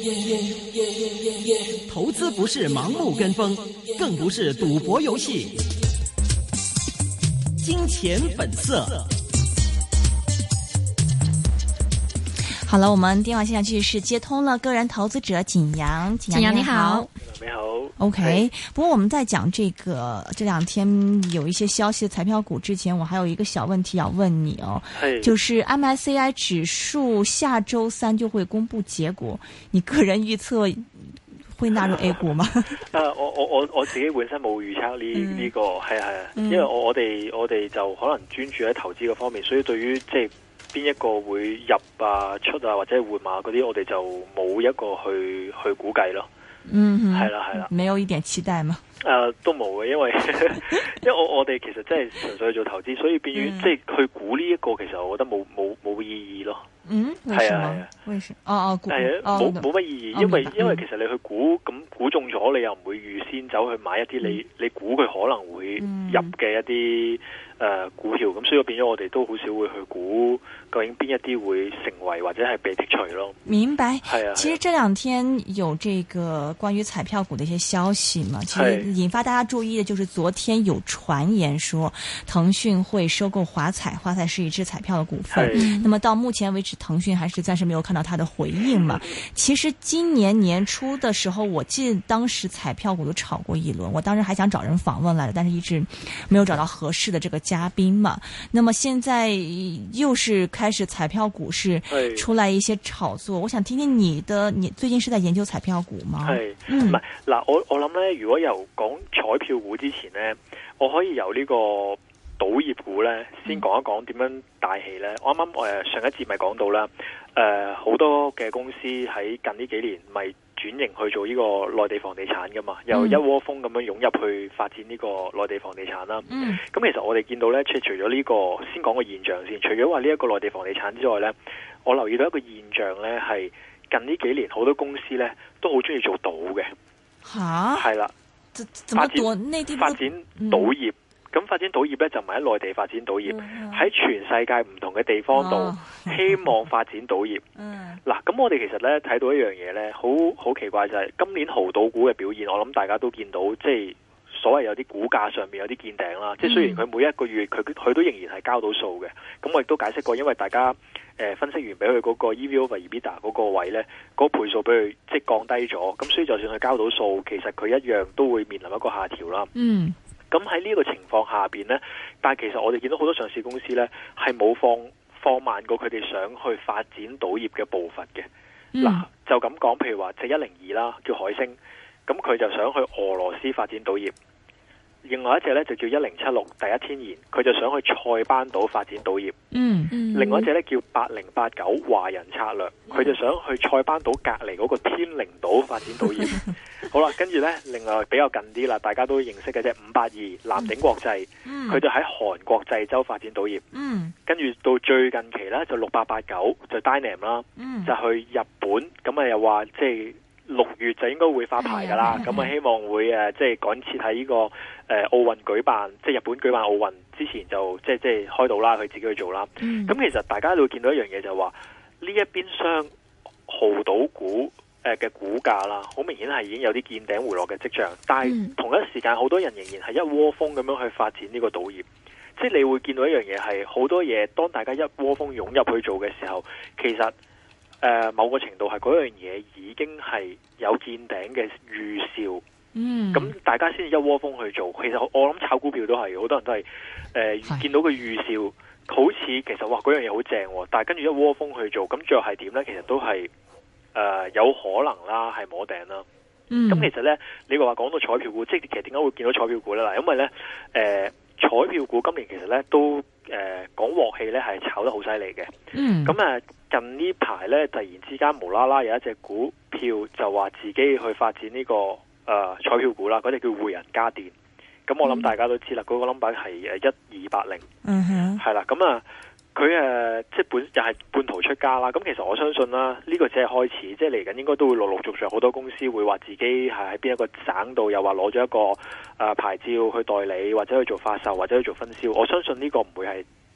投資不是盲目跟風，更不是賭博遊戲。金錢本色。 好了，我們電話線上繼續是接通了個人投資者景陽。景陽你好。 你好 OK， 不過我們在講這兩天有一些消息的彩票股之前，我還有一個小問題要問你哦，就是 MSCI 指數下周三就會公布結果，你個人預測會納入 A 股嗎？ 我自己本身冇預測呢個係因為我哋就可能專注喺投資嘅方面，所以對於即係邊一個會入啊出啊或者換碼嗰啲，我哋就冇一個去估計咯。係啦， 沒有一點期待嗎？ 都冇嘅，因為我哋其實真係純粹去做投資，所以變於即係去估呢一個，其實我覺得冇意義咯。係啊， 為什麼？ 冇乜意義，因為其實你去估估中咗，你又唔會預先走去買一啲你估佢可能會入嘅一啲股票，咁所以變咗我哋都好少會去估究竟邊一啲會成為或者係被剔除咯。 明白。 係啊， 其實這兩天有這個關於彩票股的一些消息嘛，其實引發大家注意的就是昨天有傳言說騰訊會收購華彩，華彩是一隻彩票的股份。那麼到目前為止，騰訊還是暫時沒有看到它的回應嘛。其實今年年初的時候，我記得當時彩票股都炒過一輪，我當時還想找人訪問來的，但是一直沒有找到合適的這個嘉賓嘛。那麼現在又是開始彩票股市出來一些炒作，我想聽聽你最近是在研究彩票股嗎？ 唔係嗱，我諗咧，如果由講彩票股之前咧，我可以由呢個賭業股咧先講一講點樣帶起咧。我啱啱上一節咪講到啦，好多嘅公司喺近呢幾年咪轉型去做呢個內地房地產噶嘛，又一窩蜂咁樣湧入去發展呢個內地房地產啦。咁其實我哋見到咧，除咗呢個先講個現象先，除咗話呢一個內地房地產之外咧，我留意到一個現象咧，係近呢幾年好多公司咧都好中意做賭嘅。吓，係啦，發展賭業。咁發展賭業咧就唔係喺內地發展賭業，喺全世界唔同嘅地方度希望發展賭業。嗱，咁我哋其實咧睇到一樣嘢咧，好奇怪就係今年濠賭股嘅表現，我諗大家都見到，即係所謂有啲股價上面有啲見頂啦。即係雖然佢每一個月佢都仍然係交到數嘅，咁我亦都解釋過，因為大家分析完俾佢嗰個 EV/EBITDA 嗰個位咧，嗰個倍數俾佢即係降低咗，咁所以就算佢交到數，其實佢一樣都會面臨一個下調啦。咁喺呢個情況下邊呢，但係其實我哋見到好多上市公司呢，係冇放慢過佢哋想去發展賭業嘅步伐嘅。嗱，就咁講，譬如話隻102啦，叫海星，咁佢就想去俄羅斯發展賭業。另外一隻咧就叫1076第一天然，佢就想去塞班島發展賭業。另外一隻咧叫8089華人策略，佢就想去塞班島隔離嗰個天靈島發展賭業。好啦，跟住咧，另外比較近啲啦，大家都認識嘅啫，582藍鼎國際，佢就喺韓國濟州發展賭業。跟住到最近期咧就6889就 Dynam 啦，就去日本，咁啊又話即係6月就應該會發牌噶啦，咁啊希望會即係趕切喺呢個奧運舉辦，即係日本舉辦奧運之前就即係開到啦，佢自己去做啦。咁其實大家都會見到一樣嘢，就係話呢一邊廂濠賭股嘅股價啦，好明顯係已經有啲見頂回落嘅跡象，但係同一時間好多人仍然係一窩蜂咁樣去發展呢個賭業。即係你會見到一樣嘢係好多嘢，當大家一窩蜂湧入去做嘅時候，其實某個程度係嗰樣嘢已經係有見頂嘅預兆。咁大家先至一窩蜂去做。其實我諗炒股票都係，好多人都係見到個預兆，好似其實哇嗰樣嘢好正，但係跟住一窩蜂去做，咁最後係點呢？其實都係有可能啦，係摸頂啦。咁其實呢，你話講到彩票股，即係其實點解會見到彩票股呢？嗱，因為呢，彩票股今年其實呢都講鑊氣呢係炒得好犀利嘅。咁近呢排呢，突然之間無啦啦有一隻股票就話自己去發展呢個彩票股啦，嗰隻叫匯仁家電。咁我諗大家都知啦，嗰個 number 係1280。係啦，咁佢即係又係半途出家啦。咁其實我相信啦，呢個只係開始，即係嚟緊應該都會陸陸續續好多公司會話自己係喺邊一個省度，又話攞咗一個牌照去代理，或者去做發售，或者去做分銷。我相信呢個唔會係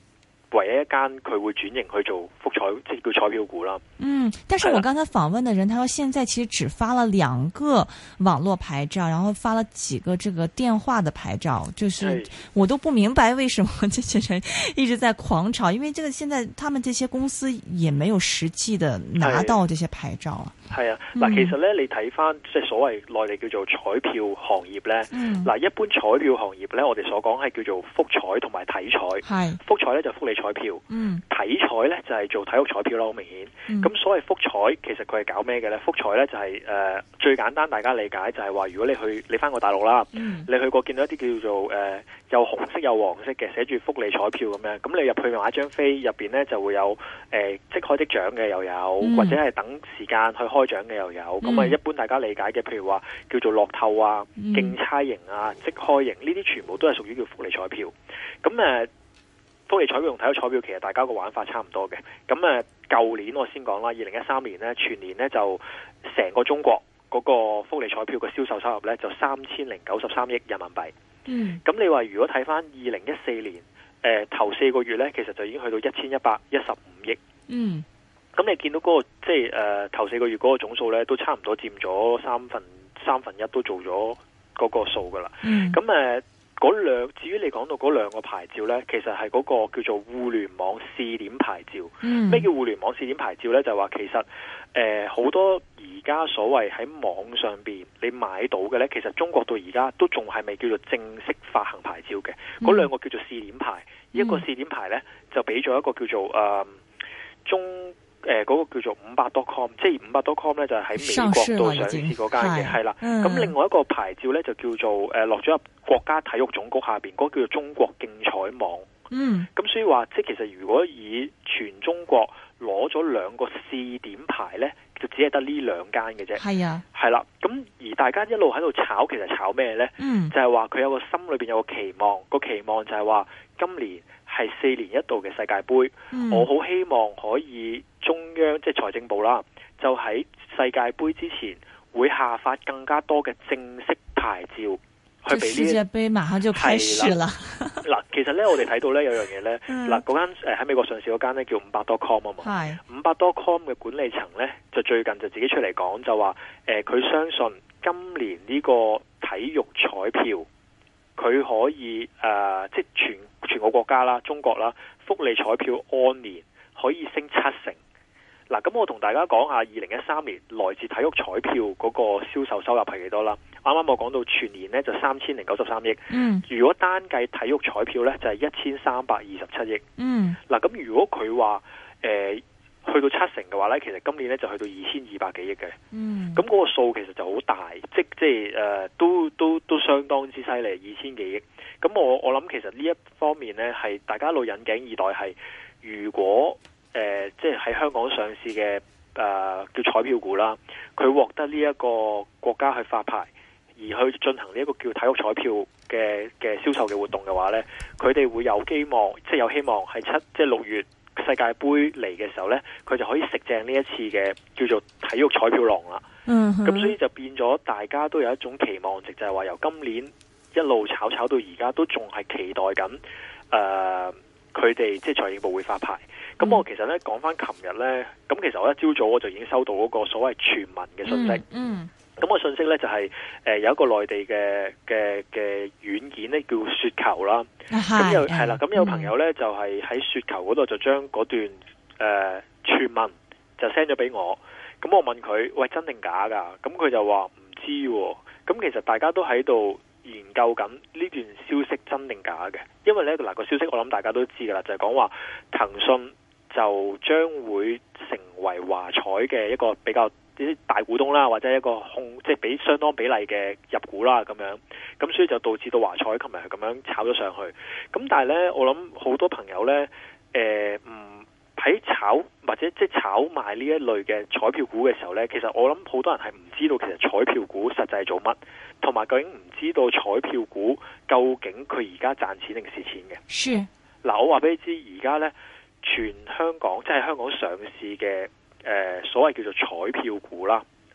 唯一一間佢會轉型去做福彩，即係叫彩票股啦。 但是我剛才訪問的人，他說現在其實只發了2個網絡牌照，然後發了幾個這個電話的牌照，就是我都不明白為什麼這些人一直在狂炒，因為這個現在他們這些公司也沒有實際的拿到這些牌照啊。 係啊，嗱，其實咧，你睇翻即係所謂內地叫做彩票行業咧，嗱，一般彩票行業咧，我哋所講係叫做福彩同埋體彩。係福彩咧就福利彩票，體彩咧就係做體育彩票啦，好明顯。咁所謂福彩其實佢係搞咩嘅咧？福彩咧就係最簡單大家理解就係話，如果你翻過大陸啦，你去過見到一啲叫做有紅色有黃色嘅寫住福利彩票咁樣，咁你入去買張飛，入邊咧就會有即開即獎嘅又有，或者係等時間去開獎嘅又有。咁一般大家理解嘅，譬如話叫做樂透啊、競猜型啊、即開型呢啲，全部都係屬於叫福利彩票。咁福利彩票同體育彩票其實大家個玩法差唔多嘅。咁舊年我先講啦，2013年呢，全年呢就成個中國嗰個福利彩票嘅銷售收入呢，就3093億人民幣。咁你話如果睇翻2014年頭4個月呢，其實就已經去到1115億。咁你見到嗰個即係頭4個月嗰個總數咧，都差唔多佔咗三分一都做咗嗰個數噶啦。咁至於你講到嗰2個牌照咧，其實係嗰個叫做互聯網試點牌照。咩叫互聯網試點牌照咧？就係話其實好多而家所謂喺網上邊你買到嘅咧，其實中國到而家都仲係未叫做正式發行牌照嘅。嗰2個叫做試點牌，一個試點牌咧就俾咗一個叫做嗰個叫做500.com， 即係500.com咧就係喺美國度上市嗰間嘅，係啦。咁另外一個牌照咧就叫做落咗入國家體育總局下邊嗰個叫做中國競彩網。咁所以話即係其實如果以全中國攞咗2個試點牌咧，就只係得呢2間嘅啫。係啊，係啦。咁而大家一路喺度炒，其實炒咩咧？就係話佢有個心裏邊有個期望，個期望就係話今年係4年一度嘅世界盃，我好希望可以中央即係財政部啦，就喺世界盃之前會下發更加多嘅正式牌照去俾呢。世界盃馬上就開始啦。嗱，其實咧我哋睇到咧有樣嘢咧，嗱嗰間喺美國上市嗰間咧叫500.com啊嘛，500.com 嘅管理層咧就最近就自己出嚟講就話，佢相信今年呢個體育彩票佢可以即係全個國家啦，中國啦，福利彩票按年可以升7成。嗱，咁我同大家講下2013年來自體育彩票嗰個銷售收入係幾多啦？啱啱我講到全年呢就3093億。如果單計體育彩票呢，就係1327億。嗱，咁如果佢話去到7成嘅話呢，其實今年呢就去到2200幾億嘅。咁嗰個數其實就好大，即係都相當之犀利，2000幾億。咁我諗其實呢一方面呢，係大家一路引頸以待，係如果即係喺香港上市嘅叫彩票股啦，佢獲得呢一個國家去發牌，而去進行呢一個叫體育彩票嘅銷售嘅活動嘅話呢，佢哋會有希望，即係有希望係即係6月世界盃嚟嘅時候呢，佢就可以食正呢一次嘅叫做體育彩票浪啦。咁所以就變咗大家都有一種期望值，就係話由今年一路炒到而家都仲係期待緊佢哋即係財政部會發牌。咁我其實咧講翻琴日咧，咁其實我一朝早我就已經收到嗰個所謂傳聞嘅信息。咁個信息咧就係有一個內地嘅軟件咧叫雪球啦。咁係啦，咁有朋友咧就係喺雪球嗰度就將嗰段傳聞就 send 咗俾我。咁我問佢，喂，真定假㗎？咁佢就話唔知喎。咁其實大家都喺度研究緊呢段消息真定假嘅，因為咧嗱個消息我諗大家都知㗎啦，就係講話騰訊就將會成為華彩嘅一個比較啲大股東啦，或者一個即係俾相當比例嘅入股啦咁樣，咁所以就導致到華彩琴日係咁樣炒咗上去。咁但係咧，我諗好多朋友咧唔喺炒或者即係炒賣呢一類嘅彩票股嘅時候咧，其實我諗好多人係唔知道其實彩票股實際係做乜，同埋究竟唔知道彩票股究竟佢而家賺錢定蝕錢嘅。是嗱，我話俾你知，而家咧全香港即係香港上市嘅所謂叫做彩票股啦，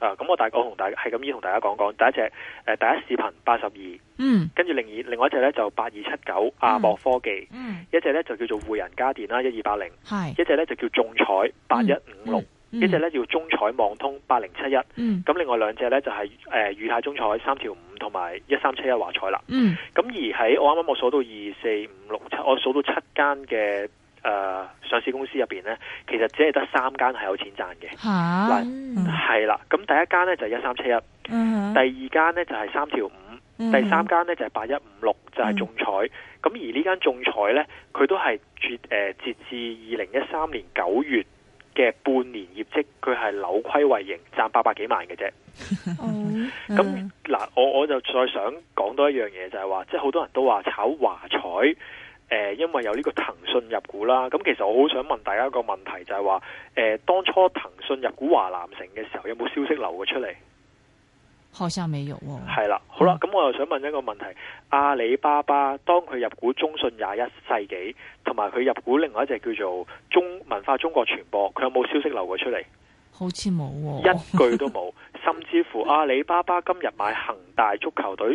咁我同大家係咁意同大家講講，第一隻第一視頻82，跟住另外一隻咧就8279亞博科技，一隻咧就叫做匯仁家電啦1280，一隻咧就叫眾彩8156，一隻咧叫中彩網通8071，咁另外兩隻咧就係裕泰中彩3條5同埋1371華彩啦。咁而喺我啱啱我數到2、4、5、6、7，我數到7間嘅上市公司入邊咧，其實只係得3間係有錢賺嘅。係啦，咁第一間咧就係1371，第二間咧就係3條5，第三間咧就係8156，就係眾彩。咁而呢間眾彩咧，佢都係截至2013年9月嘅半年業績，佢係扭虧為盈，賺800幾萬嘅啫。咁嗱，我就再想講多一樣嘢，就係話，即係好多人都話炒華彩。因為有呢個騰訊入股啦，咁其實我好想問大家一個問題，就係話，當初騰訊入股華南城嘅時候，有冇消息流過出嚟？ 好像沒有喎。係啦，好啦，咁我又想問一個問題：阿里巴巴當佢入股中信21世紀，同埋佢入股另外一隻叫做文化中國傳播，佢有冇消息流過出嚟？ 好似冇喎， 一句都冇。甚至乎阿里巴巴今日買恒大足球隊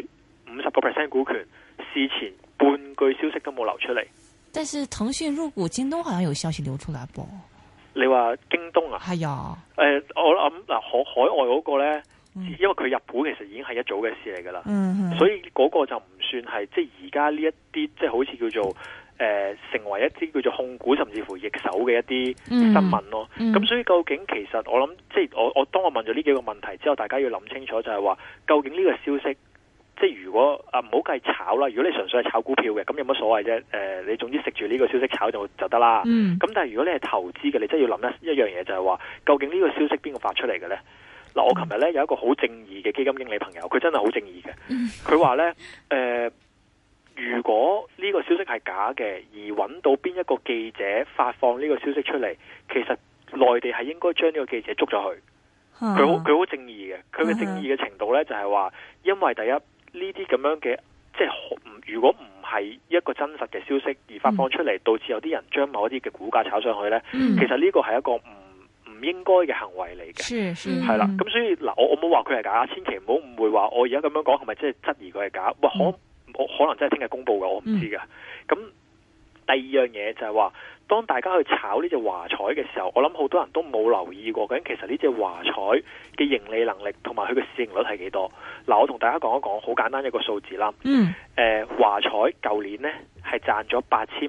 50%股權，事前半句消息都冇流出嚟。 但是騰訊入股京東好像有消息流出來噃。 你話京東啊？ 係啊。 我諗嗱，海外嗰個呢，因為佢入股其實已經係一早嘅事嚟噶啦，所以嗰個就唔算係即係而家呢一啲即係好似叫做成為一啲叫做控股甚至乎易手嘅一啲新聞咯。咁所以究竟其實我諗即係我當我問咗呢幾個問題之後，大家要諗清楚就係話，究竟呢個消息。即係如果唔好計炒啦，如果你純粹係炒股票嘅，咁有乜所謂啫？你總之食住呢個消息炒就得啦。咁但係如果你係投資嘅，你真係要諗一樣嘢，就係話究竟呢個消息邊個發出嚟嘅呢？嗱，我琴日呢有一個好正義嘅基金經理朋友，佢真係好正義嘅。佢話呢，如果呢個消息係假嘅，而揾到邊一個記者發放呢個消息出嚟，其實內地係應該將呢個記者捉咗去。佢好正義嘅，佢嘅正義嘅程度呢，就係話，因為第一。呢啲咁樣嘅，即係如果唔係一個真實嘅消息而發放出嚟，導致有啲人將某一啲嘅股價炒上去呢，其實呢個係一個唔應該嘅行為嚟嘅，係啦。咁所以嗱，我冇話佢係假，千祈唔好誤會話我而家咁樣講係咪即係質疑佢係假？可能真係聽日公佈嘅，我唔知㗎。咁第二樣嘢就係話，當大家去炒呢隻華彩嘅時候，我諗好多人都冇留意過，究竟其實呢隻華彩嘅盈利能力同埋佢嘅市盈率係幾多？嗱，我同大家講一講好簡單一個數字啦。華彩舊年呢係賺咗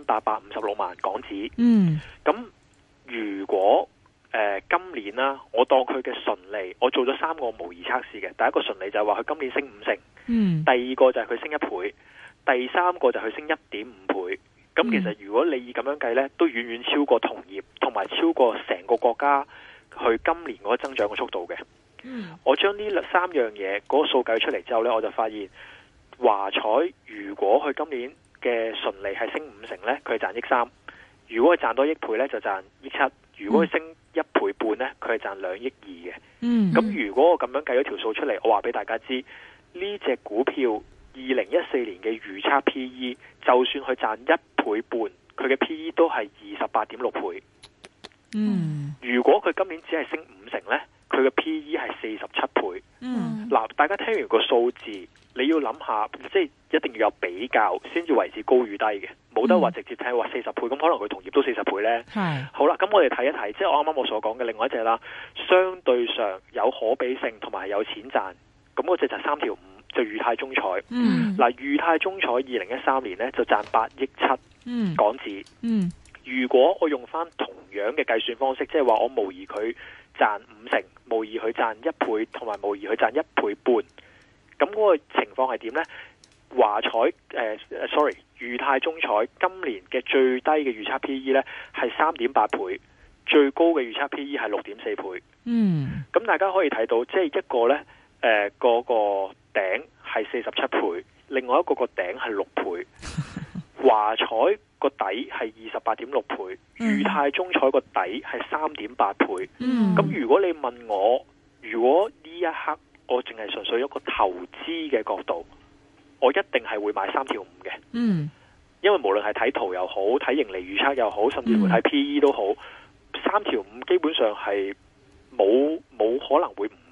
8856萬港紙。咁如果今年啦，我當佢嘅純利，我做咗3個模擬測試嘅。第一個純利就係話佢今年升5成，第二個就係佢升1倍，第三個就係佢升1.5倍。咁其實如果你以咁樣計呢，都遠遠超過同業，同埋超過成個國家去今年嗰個增長嘅速度嘅。我將呢3樣嘢嗰個數計出嚟之後呢，我就發現華彩如果佢今年嘅純利係升5成呢，佢係賺1.3億；如果佢賺多1倍呢，就賺1.7億；如果佢升1倍半呢，佢係賺2.2億嘅。咁如果我咁樣計咗條數出嚟，我話俾大家知，呢隻股票2014年嘅預測 PE， 就算佢賺1倍半，佢嘅 PE 都係28.6倍。如果佢今年只係升5成呢，佢嘅 PE 係47倍。嗱，大家聽完個數字，你要諗下，即係一定要有比較，先至為之高與低嘅，冇得話直接睇話40倍，咁可能佢同業都40倍呢。好啦，咁我哋睇一睇，即係我啱啱我所講嘅另外一隻啦，相對上有可比性同埋有錢賺，咁嗰隻就3條5。就裕泰中彩，嗱，裕泰中彩2013年呢就賺8.7億港紙。如果我用翻同樣嘅計算方式，即係話我模擬佢賺5成，模擬佢賺1倍，同埋模擬佢賺1倍半，咁嗰個情況係點呢？華彩裕泰中彩今年嘅最低嘅預測 PE 呢係3.8倍，最高嘅預測 PE 係6.4倍。咁大家可以睇到，即係一個呢嗰個頂係47倍，另外一個個頂係6倍。華彩個底係28.6倍，裕泰中彩個底係3.8倍。咁如果你問我，如果呢一刻我淨係純粹一個投資嘅角度，我一定係會買3條5嘅。因為無論係睇圖又好，睇盈利預測又好，甚至乎睇 PE 都好，3條5基本上係冇可能會唔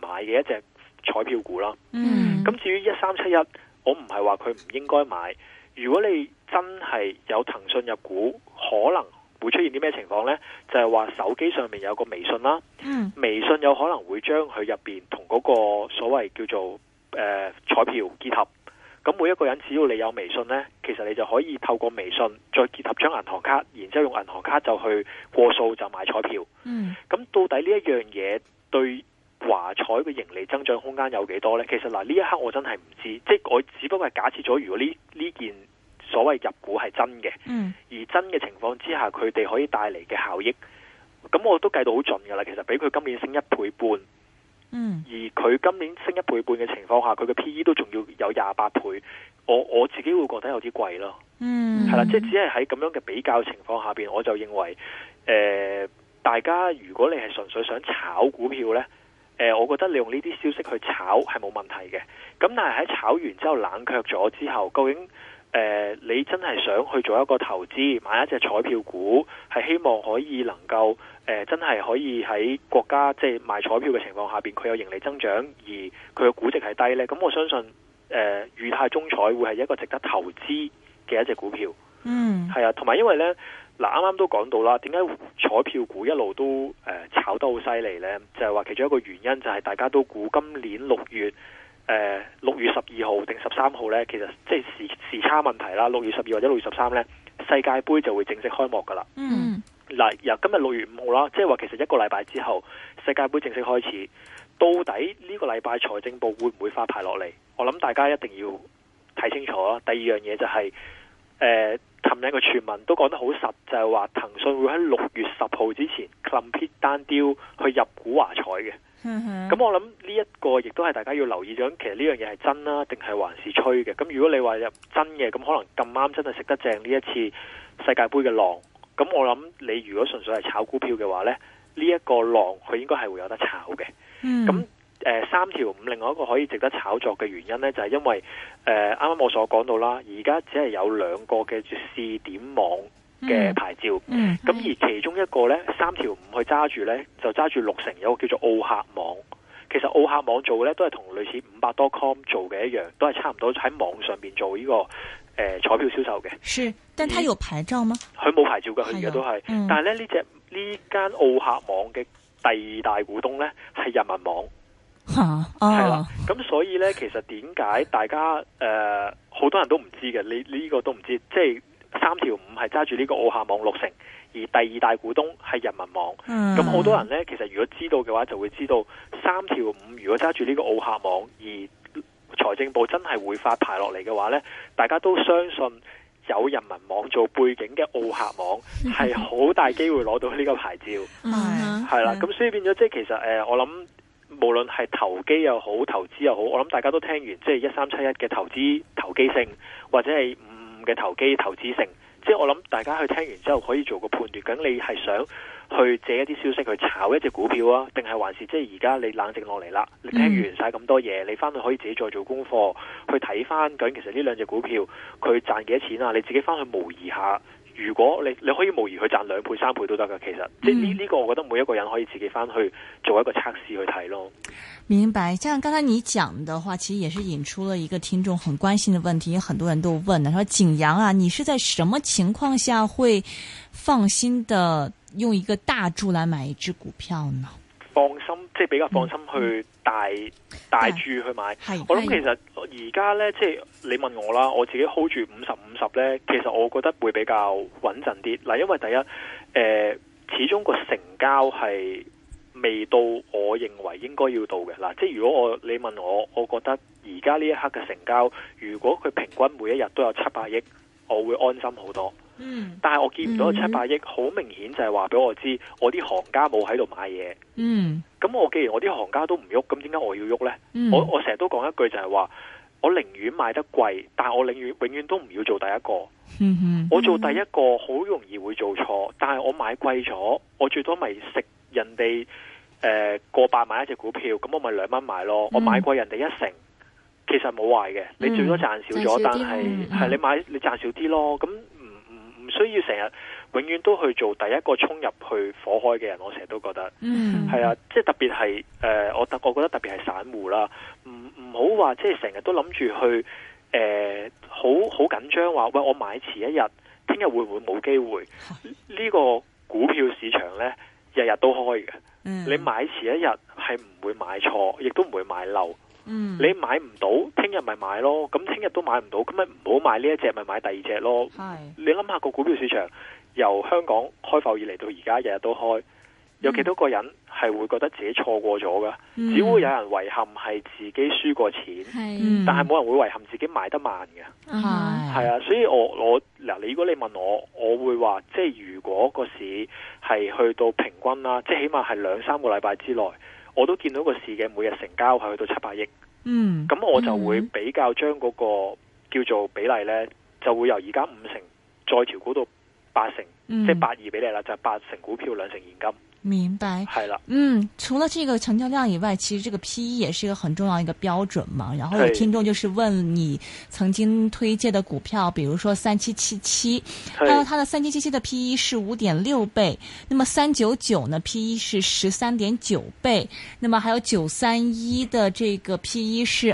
買嘅一隻彩票股啦。 嗯， 咁至於1371，我唔係話佢唔應該買。如果你真係有騰訊入股，可能會出現啲咩情況呢？就係話手機上面有個微信啦，微信有可能會將佢入邊同嗰個所謂叫做彩票結合。咁每一個人只要你有微信呢，其實你就可以透過微信再結合張銀行卡，然之後用銀行卡就去過數就買彩票。咁到底呢一樣嘢對華彩嘅盈利增長空間有幾多呢？其實嗱，呢一刻我真係唔知，即係我只不過係假設咗，如果呢件所謂入股係真嘅，而真嘅情況之下，佢哋可以帶嚟嘅效益，咁我都計到好盡噶啦。其實比佢今年升1倍半。而佢今年升1倍半嘅情況下，佢嘅 P/E 都仲要有28倍，我自己會覺得有啲貴咯。係啦，即係只係喺咁樣嘅比較情況下邊，我就認為，大家如果你係純粹想炒股票呢，我覺得你用呢啲消息去炒係冇問題嘅。咁但係喺炒完之後冷卻咗之後，究竟你真係想去做一個投資，買一隻彩票股，係希望可以能夠真係可以喺國家即係賣彩票嘅情況下邊，佢有盈利增長，而佢嘅估值係低呢。咁我相信裕泰中彩會係一個值得投資嘅一隻股票。係啊，同埋因為呢，嗱啱啱都講到啦，點解彩票股一路都炒得好犀利呢？就係話其中一個原因就係大家都估今年6月12號定13號呢，其實即係時差問題啦。6月12或者6月13呢，世界盃就會正式開幕噶啦。嗱，由今日6月5號啦，即係話其實一個禮拜之後，世界盃正式開始。到底呢個禮拜財政部會唔會發牌落嚟？我諗大家一定要睇清楚啦。第二樣嘢就係琴日個傳聞都講得好實，就係話騰訊會喺6月10號之前 complete 單雕去入股華彩嘅。咁我諗呢一個亦都係大家要留意咗，其實呢樣嘢係真啦，定係還是吹嘅？咁如果你話入真嘅，咁可能咁啱真係食得正呢一次世界盃嘅浪。咁我諗你如果純粹係炒股票嘅話呢，呢一個浪佢應該係會有得炒嘅。咁3條5另外一個可以值得炒作嘅原因呢，就係因為啱啱我所講到啦，而家只係有2個嘅試點網嘅牌照，咁而其中一個呢，3條5去揸住呢，就揸住6成，有個叫做奧客網。其實奧客網做嘅呢，都係同類似500.com 做嘅一樣，都係差唔多喺網上邊做呢個彩票銷售嘅。 是，但他有牌照嗎？ 佢冇牌照嘅，佢而家都係。但係咧呢間奧客網嘅第2大股東呢，係人民網。係啦，咁所以呢，其實點解大家好多人都唔知嘅？你呢個都唔知，即係3條5係揸住呢個奧客網6成，而第2大股東係人民網。咁好多人呢，其實如果知道嘅話，就會知道3條5如果揸住呢個奧客網，而財政部真係會發牌落嚟嘅話呢，大家都相信有人民網做背景嘅奧客網係好大機會攞到呢個牌照。係啦，咁所以變咗即係其實我諗。無論係投機又好，投資又好，我諗大家都聽完，即係1371嘅投機性，或者係55嘅投機投資性，即係我諗大家去聽完之後可以做個判斷，究竟你係想去借一啲消息去炒一隻股票啊，定係還是即係而家你冷靜落嚟啦，你聽完晒咁多嘢，你翻去可以自己再做功課，去睇翻究竟其實呢2隻股票佢賺幾多錢啊？你自己翻去模擬下。如果你可以模擬去賺2倍3倍都得噶，其實即係呢個我覺得每一個人可以自己翻去做一個測試去睇咯。 明白，像剛才你講的話，其實也是引出了一個聽眾很關心的問題，因為很多人都問了，說景陽啊，你是在什麼情況下會放心的用一個大注來買一支股票呢？ 放心，即係比較放心去大注去買。我諗其實而家呢，即係你問我啦，我自己 hold 住50-50呢，其實我覺得會比較穩陣啲。嗱，因為第一，始終個成交係未到我認為應該要到嘅。嗱，即係如果你問我覺得而家呢一刻嘅成交，如果佢平均每一日都有700億，我會安心好多。但係我見唔到700億，好明顯就係話俾我知，我啲行家冇喺度買嘢。咁我既然我啲行家都唔喐，咁點解我要喐呢？我成日都講一句就係話，我寧願買得貴，但係我永遠都唔要做第一個。我做第一個好容易會做錯，但係我買貴咗，我最多咪食人哋過百買一隻股票，咁我咪2蚊買咯。我買貴人哋1成，其實冇壞嘅，你最多賺少咗，但係你賺少啲咯。咁唔需要成日永遠都去做第一個衝入去火海嘅人。我成日都覺得，係啊，即係特別係我覺得特別係散戶啦，唔好話即係成日都諗住去好緊張話，喂，我買遲一日，聽日會唔會冇機會？呢個股票市場呢，日日都開嘅。你買遲一日係唔會買錯，亦都唔會買漏。你買唔到，聽日咪買咯。咁聽日都買唔到，咁咪唔好買呢一隻，咪買第二隻咯。你諗下個股票市場由香港開埠以嚟到而家，日日都開，有幾多個人係會覺得自己錯過咗噶？只會有人遺憾係自己輸過錢，但係冇人會遺憾自己買得慢嘅。係啊，所以我嗱，如果你問我會話，即係如果個市係去到平均啦，即係起碼係2-3個禮拜之內，我都見到個市嘅每日成交係去到700億。咁我就會比較將嗰個叫做比例呢，就會由而家5成再調高到8成，即係82比例啦，就係8成股票2成現金。 明白， 係啦， 除了這個成交量以外，其實這個 PE 也是一個很重要一個標準嘛。然後有聽眾就是問你曾經推介的股票，比如說3777，還有它的3777的 PE 是5.6倍，那麼399呢 PE 是13.9倍，那麼還有931的這個 PE 是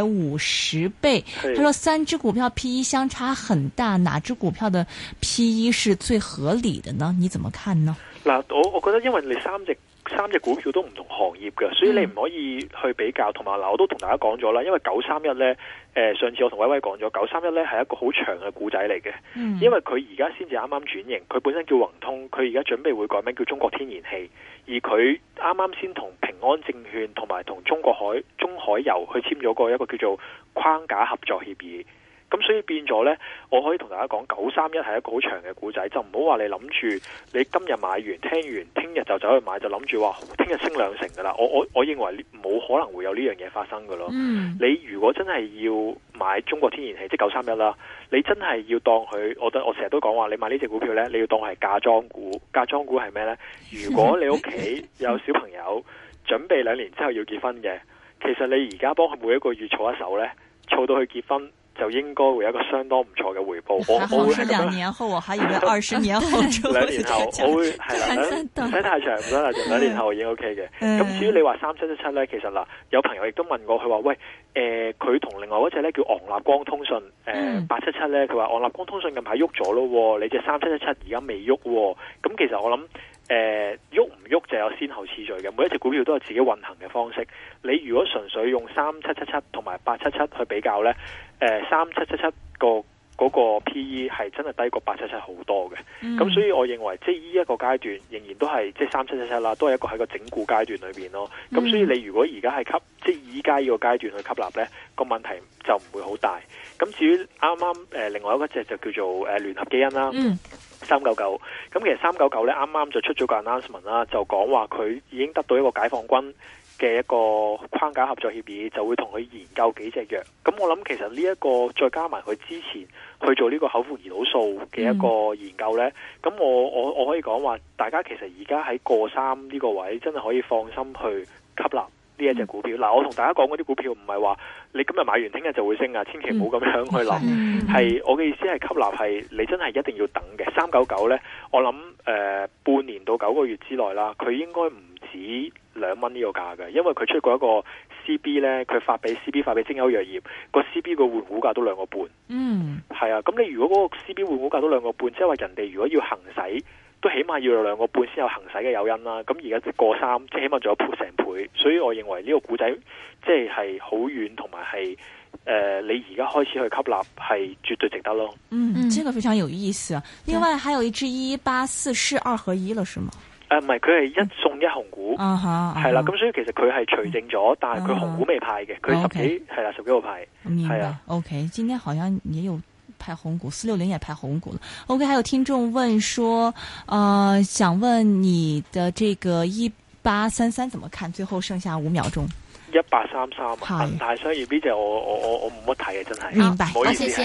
250倍。他說3隻股票 PE 相差很大，哪隻股票的 PE 是最合理的呢？你怎麼看呢？ 嗱，我覺得因為你三隻股票都唔同行業嘅，所以你唔可以去比較。同埋嗱，我都同大家講咗啦，因為931呢，上次我同威威講咗，931呢係一個好長嘅故仔嚟嘅。因為佢而家先至啱啱轉型，佢本身叫宏通，佢而家準備會改名叫中國天然氣，而佢啱啱先同平安證券同埋同中海油去簽咗一個叫做框架合作協議。咁所以變咗呢，我可以同大家講，931係一個好長嘅故仔，就唔好話你諗住你今日買完聽完，聽日就走去買，就諗住話聽日升2成噶啦。我認為冇可能會有呢樣嘢發生噶咯。你如果真係要買中國天然氣，即係931啦，你真係要當佢，我成日都講話，你買呢隻股票呢，你要當係嫁妝股。嫁妝股係咩呢？如果你屋企有小朋友準備2年之後要結婚嘅，其實你而家幫佢每一個月儲一手呢，儲到佢結婚，就應該會有一個相當唔錯嘅回報。我會係2 年後，我還以為20年後。 2年後我會係啦，唔使太長，唔使太長，2年後已經 OK 嘅。咁至於你話3777咧，其實嗱，有朋友亦都問過佢話，喂，佢同另外嗰隻咧叫昂立光通訊877咧，佢話昂立光通訊近排喐咗咯，你隻3777而家未喐。咁其實我諗喐唔喐就有先後次序嘅，每一隻股票都有自己運行嘅方式。你如果純粹用3777同埋877去比較咧，3777嗰個 PE 係真係低過877好多嘅。咁所以我認為即係呢一個階段仍然都係即係3777啦，都係一個喺個整固階段裏邊咯。咁所以你如果而家係即係依家呢個階段去吸納咧，個問題就唔會好大。咁至於啱啱另外一個隻就叫做聯合基因啦。399，咁其實399咧啱啱就出咗個 announcement 啦，就講話佢已經得到一個解放軍嘅一個框架合作協議，就會同佢研究幾隻藥。咁我諗其實呢一個再加埋佢之前去做呢個口服胰島素嘅一個研究呢，咁我可以講話，大家其實而家喺過3呢個位真係可以放心去吸納呢一隻股票。嗱，我同大家講嗰啲股票唔係話你今日買完聽日就會升啊，千祈唔好咁樣去諗。係我嘅意思係吸納係你真係一定要等嘅。399呢，我諗半年到9個月之內啦，佢應該唔止2蚊呢個價嘅，因為佢出過一個 CB 呢，佢發俾精優藥業個 CB 個換股價都2個半。係啊，咁你如果嗰個 CB 換股價都2個半，即係話人哋如果要行使，都起碼要有2個半先有行使嘅誘因啦。咁而家過3，即係起碼仲有成倍，所以我認為呢個股仔即係好遠，同埋係你而家開始去吸納係絕對值得咯。 這個非常有意思。另外還有一支1844是2合1了，是嗎？ 唔係，佢係1送1紅股，係啦。咁所以其實佢係除淨咗，但係佢紅股未派嘅，佢10幾個派。 明白。OK，今天好像也有派紅股，460也派紅股了。OK，還有聽眾問說，想問你的這個1833怎麼看？最後剩下5秒鐘。1833，恒大商業呢隻我冇乜睇嘅，真係。 明白， 唔好意思。